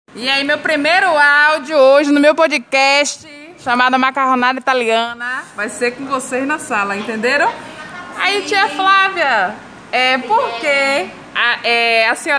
E aí, meu primeiro áudio hoje no meu podcast, chamado Macarronada Italiana, vai ser com vocês na sala, entenderam? Aí, tia Flávia, por que a senhora